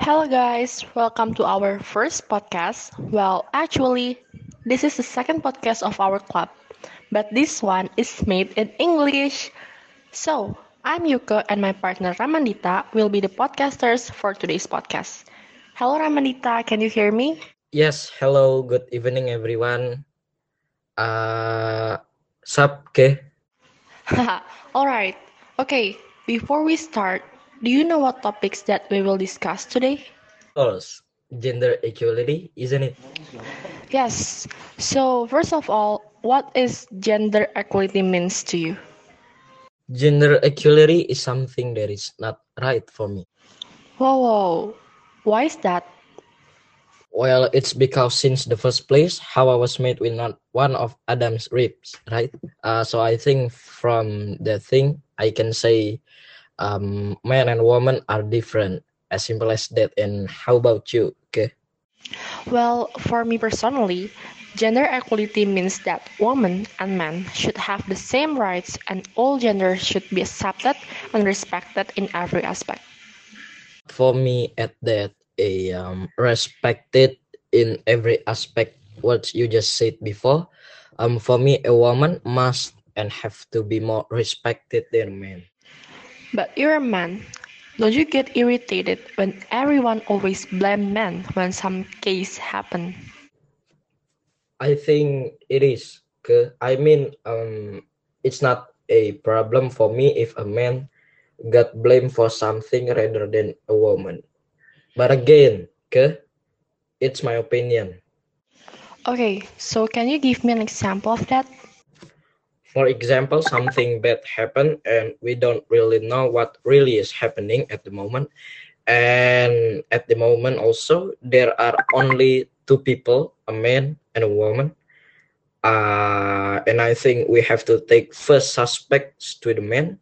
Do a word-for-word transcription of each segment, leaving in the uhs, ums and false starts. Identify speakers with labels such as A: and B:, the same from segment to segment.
A: Hello, guys. Welcome to our first podcast. Well, actually, this is the second podcast of our club, but this one is made in English. So, I'm Yuka and my partner Ramandita will be the podcasters for today's podcast. Hello, Ramandita. Can you hear me?
B: Yes, hello, good evening everyone. Uh, sup, ke?
A: Haha, Alright. Okay, before we start, do you know what topics that we will discuss today?
B: Of course, gender equality, isn't it?
A: Yes. So, first of all, what is gender equality means to you?
B: Gender equality is something that is not right for me.
A: Whoa, whoa. Why is that?
B: Well, it's because since the first place, Hawa was made with not one of Adam's ribs, right? Uh, so I think from the thing, I can say um, man and woman are different, as simple as that. And how about you, okay?
A: Well, for me personally, gender equality means that women and men should have the same rights and all genders should be accepted and respected in every aspect.
B: For me at that a um, respected in every aspect what you just said before. Um for me a woman must and have to be more respected than men.
A: But you're a man. Don't you get irritated when everyone always blame men when some case happen?
B: I think it is. Okay? I mean um it's not a problem for me if a man got blamed for something rather than a woman. But again, okay, it's my opinion.
A: Okay, so can you give me an example of that?
B: For example, something bad happened and we don't really know what really is happening at the moment. And at the moment also there are only two people, a man and a woman. Uh, and I think we have to take first suspects to the men.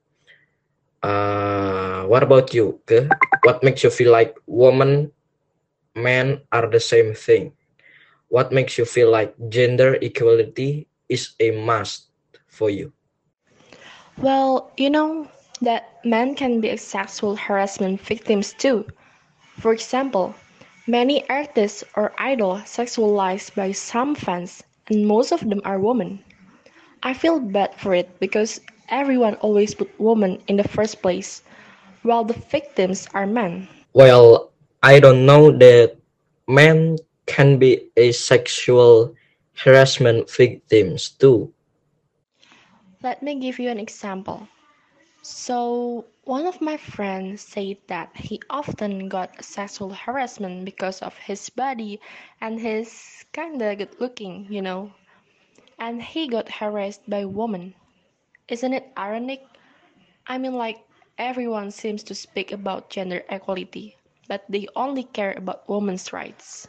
B: Uh, what about you? Ke? What makes you feel like woman, men are the same thing? What makes you feel like gender equality is a must for you?
A: Well, you know that men can be sexual harassment victims too. For example, many artists or idols sexualized by some fans, and most of them are women. I feel bad for it because everyone always put women in the first place, while the victims are men.
B: Well, I don't know that men can be a sexual harassment victims too.
A: Let me give you an example. So, one of my friends said that he often got sexual harassment because of his body and his kinda good looking, you know, and he got harassed by women. Isn't it ironic? I mean, like, everyone seems to speak about gender equality, but they only care about women's rights.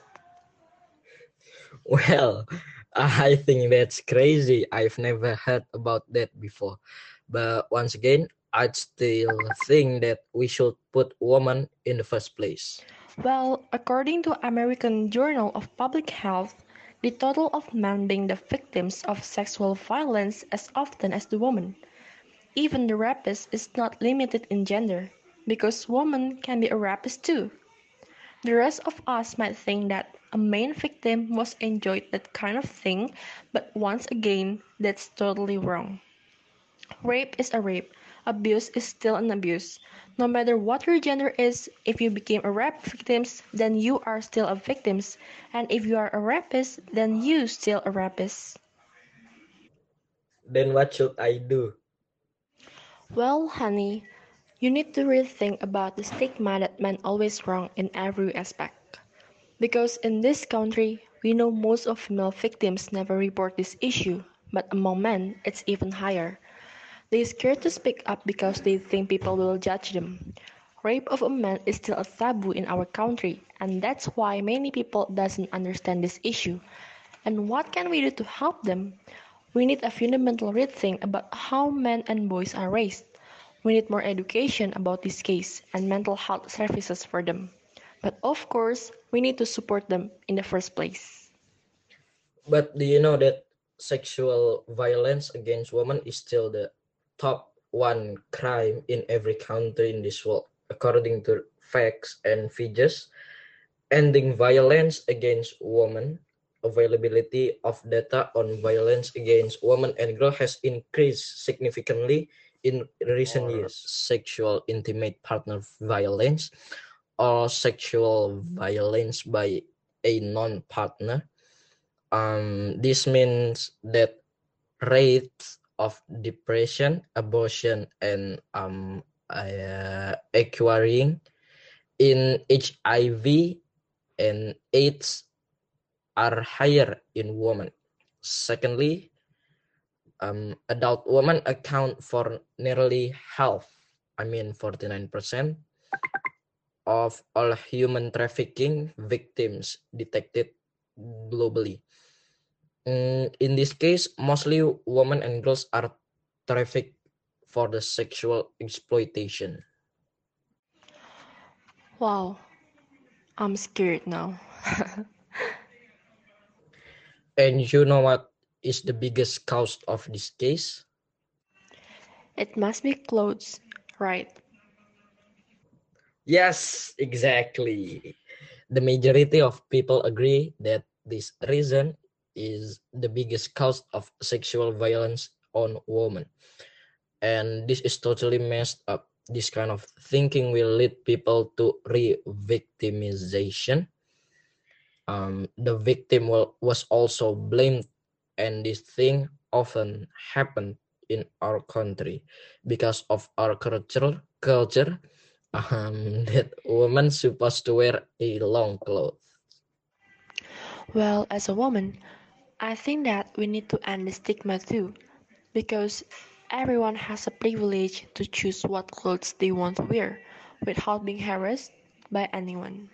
B: Well, I think that's crazy. I've never heard about that before. But once again, I'd still think that we should put women in the first place.
A: Well, according to American Journal of Public Health, the total of men being the victims of sexual violence as often as the women. Even the rapist is not limited in gender, because women can be a rapist too. The rest of us might think that a main victim was enjoyed that kind of thing, but once again, that's totally wrong. Rape is a rape. Abuse is still an abuse. No matter what your gender is, if you became a rape victim, then you are still a victim. And if you are a rapist, then you still a rapist.
B: Then what should I do?
A: Well, honey, you need to really think about the stigma that men always wrong in every aspect. Because in this country, we know most of female victims never report this issue, but among men, it's even higher. They scared to speak up because they think people will judge them. Rape of a man is still a taboo in our country, and that's why many people doesn't understand this issue. And what can we do to help them? We need a fundamental rethink about how men and boys are raised. We need more education about this case and mental health services for them. But of course, we need to support them in the first place.
B: But do you know that sexual violence against women is still the top one crime in every country in this world, according to facts and figures, ending violence against women. Availability of data on violence against women and girls has increased significantly in recent years. Sexual intimate partner violence or sexual violence by a non-partner. Um, this means that rates of depression, abortion, and um, uh, acquiring in H I V and AIDS are higher in women. Secondly, um, adult women account for nearly half, I mean forty-nine percent, of all human trafficking victims detected globally. Mm, in this case, mostly women and girls are trafficked for the sexual exploitation.
A: Wow, I'm scared now.
B: And you know what is the biggest cause of this case?
A: It must be clothes, right?
B: Yes, exactly. The majority of people agree that this reason is the biggest cause of sexual violence on women. And this is totally messed up. This kind of thinking will lead people to re-victimization. Um, the victim will, was also blamed, and this thing often happened in our country because of our culture culture um, that women supposed to wear a long clothes.
A: Well, as a woman, I think that we need to end the stigma too, because everyone has a privilege to choose what clothes they want to wear without being harassed by anyone.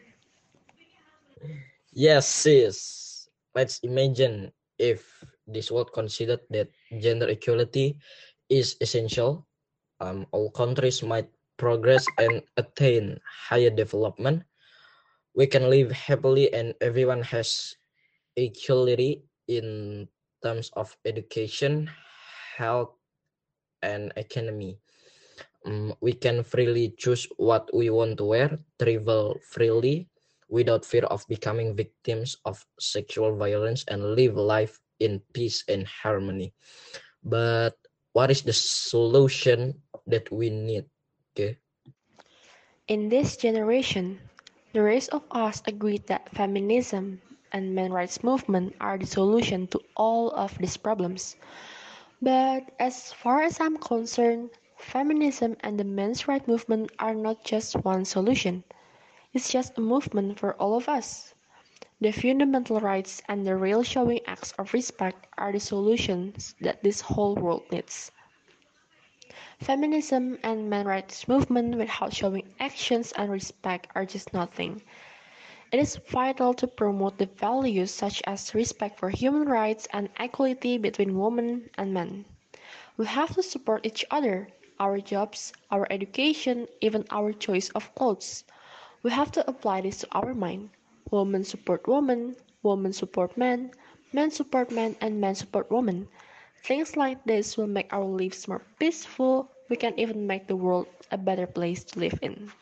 B: Yes, sis. Let's imagine if this world considered that gender equality is essential. Um, all countries might progress and attain higher development. We can live happily and everyone has equality in terms of education, health, and economy. Um, we can freely choose what we want to wear, travel freely without fear of becoming victims of sexual violence, and live life in peace and harmony. But what is the solution that we need? Okay.
A: In this generation, the rest of us agree that feminism and men's rights movement are the solution to all of these problems. But as far as I'm concerned, feminism and the men's rights movement are not just one solution. It's just a movement for all of us. The fundamental rights and the real showing acts of respect are the solutions that this whole world needs. Feminism and men's rights movement without showing actions and respect are just nothing. It is vital to promote the values such as respect for human rights and equality between women and men. We have to support each other, our jobs, our education, even our choice of clothes. We have to apply this to our mind. Women support women, women support men, men support men, and men support women. Things like this will make our lives more peaceful. We can even make the world a better place to live in.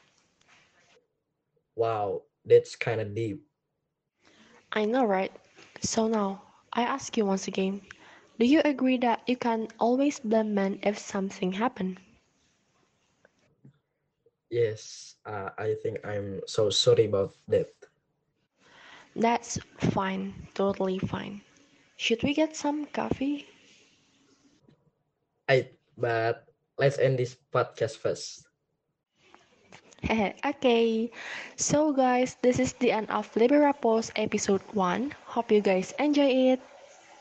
B: Wow, that's kind of deep.
A: I know, right? So now, I ask you once again, do you agree that you can always blame men if something happens?
B: Yes, uh, I think I'm so sorry about that.
A: That's fine, totally fine. Should we get some coffee?
B: I but let's end this podcast first.
A: Okay, so guys, this is the end of Libera Post episode one. Hope you guys enjoy it.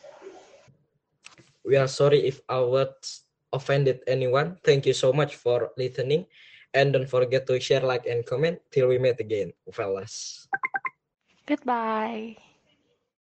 B: We are sorry if our words offended anyone. Thank you so much for listening. And don't forget to share, like, and comment till we meet again, fellas.
A: Goodbye.